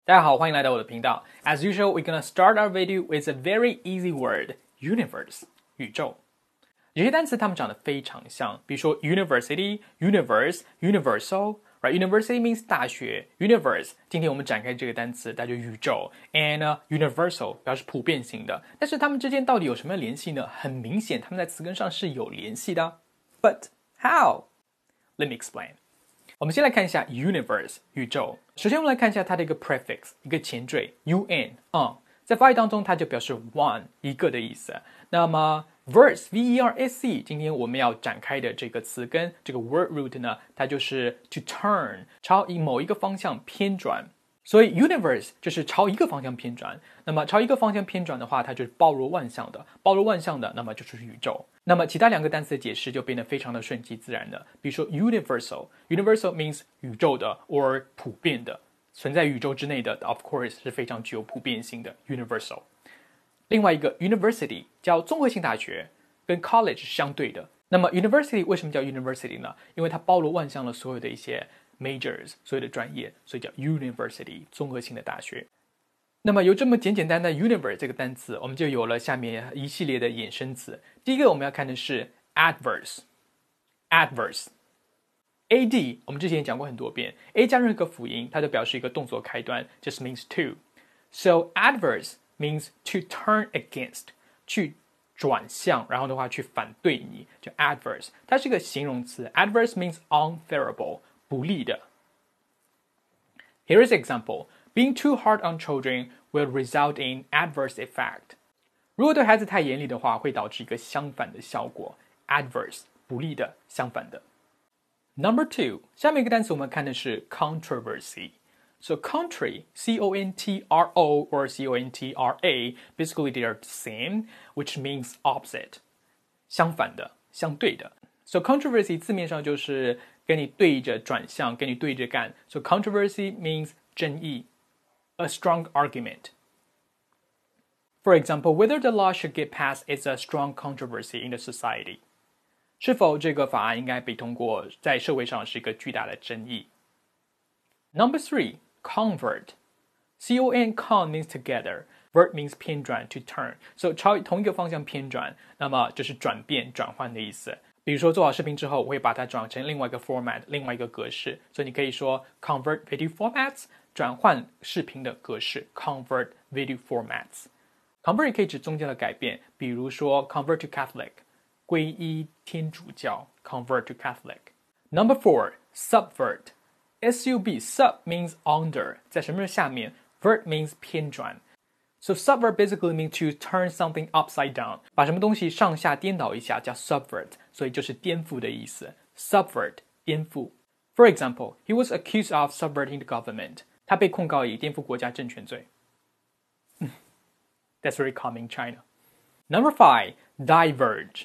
大家好，欢迎来到我的频道。As usual, we're gonna start our video with a very easy word, universe, 宇宙。有些单词它们长得非常像，比如说 university, universe, universal, right? University means 大学 universe. 今天我们展开这个单词，它就宇宙 and universal 表示普遍性的。但是它们之间到底有什么联系呢？很明显，它们在词根上是有联系的。But how? Let me explain. 我们先来看一下 universe 宇宙。首先，我们来看一下它的一个 prefix 一个前缀 un 在法语当中它就表示 one 一个的意思。那么 verse v-e-r-s-e 今天我们要展开的这个词根这个 word root 呢，它就是 to turn 朝某一个方向偏转。所以 universe 就是朝一个方向偏转，那么朝一个方向偏转的话，它就是包罗万象的，包罗万象的，那么就是宇宙。那么其他两个单词的解释就变得非常的顺其自然的，比如说 universal means 宇宙的 or 普遍的，存在宇宙之内的 of course 是非常具有普遍性的 universal。另外一个 university 叫综合性大学，跟 college 是相对的。那么 university 为什么叫 university 呢？因为它包罗万象了所有的一些majors 所有的专业，所以叫 university 综合性的大学。那么有这么简单的 universe 这个单词，我们就有了下面一系列的衍生词。第一个我们要看的是 adverse ad 我们之前也讲过很多遍 a 加任何辅音它就表示一个动作开端 just means to so adverse means to turn against 去转向，然后的话去反对你，就 adverse 它是个形容词 adverse means unfavorable不利的。 Here is an example. Being too hard on children will result in adverse effect. 如果对孩子太严厉的话，会导致一个相反的效果 adverse 不利的，相反的。 Number 2 下面一个单词我们看的是 controversy. So country, C-O-N-T-R-O or C-O-N-T-R-A, basically they are the same, which means opposite. 相反的，相对的。So controversy 字面上就是跟你对着转向，跟你对着干。So controversy means 争议 a strong argument. For example, whether the law should get passed is a strong controversy in the society. 是否这个法案应该被通过，在社会上是一个巨大的争议。Number 3, convert. C-O-N con means together. Vert means 偏转 to turn. So 朝同一个方向偏转，那么就是转变、转换的意思。比如说做好视频之后，我会把它转成另外一个 format， 另外一个格式。所以你可以说 convert video formats， 转换视频的格式 convert video formats。convert 也可以指宗教的改变，比如说 convert to Catholic， 皈依天主教 convert to Catholic。 Number 4, subvert. S-U-B, sub means under， 在什么下面 vert means 偏转。So subvert basically means to turn something upside down， 把什么东西上下颠倒一下叫 subvert， 所以就是颠覆的意思。subvert 颠覆。For example, he was accused of subverting the government. 他被控告以颠覆国家政权罪。That's very common in China. Number 5, diverge.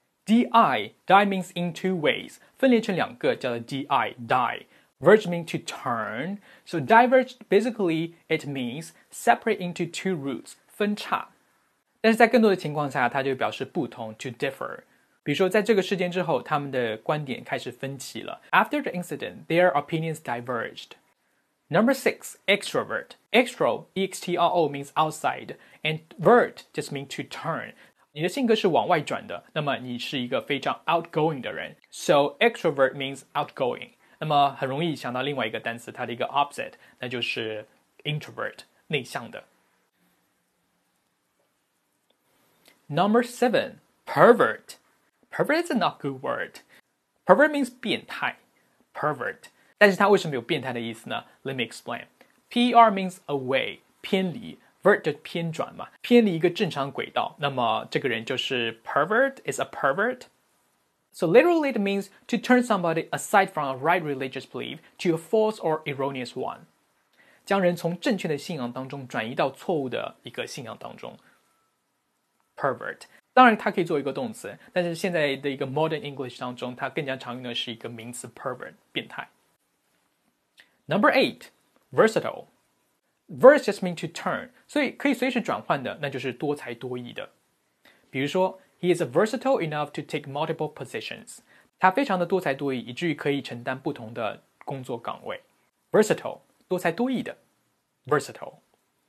D-I means in two ways， 分裂成两个叫做 die。Verge means to turn. So diverge, basically, it means separate into two routes, 分叉。但是在更多的情况下，它就表示不同 to differ。比如说，在这个事件之后，他们的观点开始分歧了。After the incident, their opinions diverged. Number 6, extrovert. Extro, E-X-T-R-O means outside, and vert just means to turn. 你的性格是往外转的，那么你是一个非常 outgoing 的人。So extrovert means outgoing。那么很容易想到另外一个单词，它的一个 opposite， 那就是 introvert 内向的。Number 7, pervert. Pervert is a not good word. Pervert means 变态 pervert， 但是它为什么有变态的意思呢？ Let me explain. P-E-R means away 偏离，vert 就偏转嘛，偏离一个正常轨道，那么这个人就是 pervert is a pervert。So literally it means to turn somebody aside from a right religious belief to a false or erroneous one. 将人从正确的信仰当中转移到错误的一个信仰当中。Pervert 当然它可以做一个动词，但是现在的一个 modern English 当中，它更加常用的是一个名词 pervert 变态。Number 8, versatile. Verse just means to turn， 所以可以随时转换的，那就是多才多艺的。比如说He is versatile enough to take multiple positions. 他非常的多才多艺，以至于可以承担不同的工作岗位。Versatile 多才多艺的。 versatile.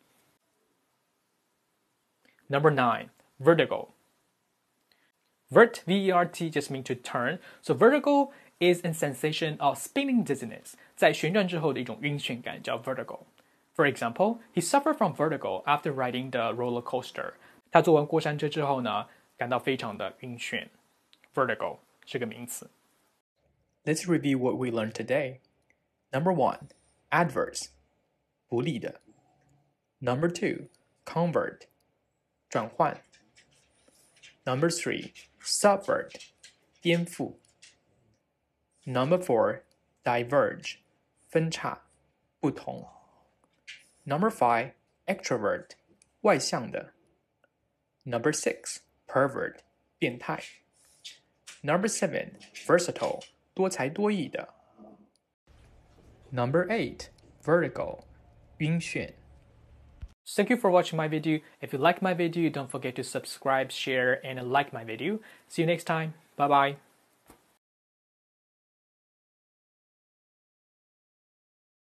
Number 9, vertigo. Vert, V-E-R-T, just means to turn. So vertigo is a sensation of spinning dizziness. 在旋转之后的一种晕眩感叫 vertigo. For example, he suffered from vertigo after riding the roller coaster. 他坐完过山车之后呢，感到非常的晕眩。Vertigo 是个名词。Let's review what we learned today. Number 1, adverse, 不利的。Number 2, convert, 转换。Number 3, subvert, 颠覆。Number 4, diverge, 分叉，不同。Number 5, extrovert, 外向的。Number 6, pervert, 变态。Number 7, versatile, 多才多艺的。Number 8, vertigo, 晕眩。Thank you for watching my video. If you like my video, don't forget to subscribe, share, and like my video. See you next time. Bye bye.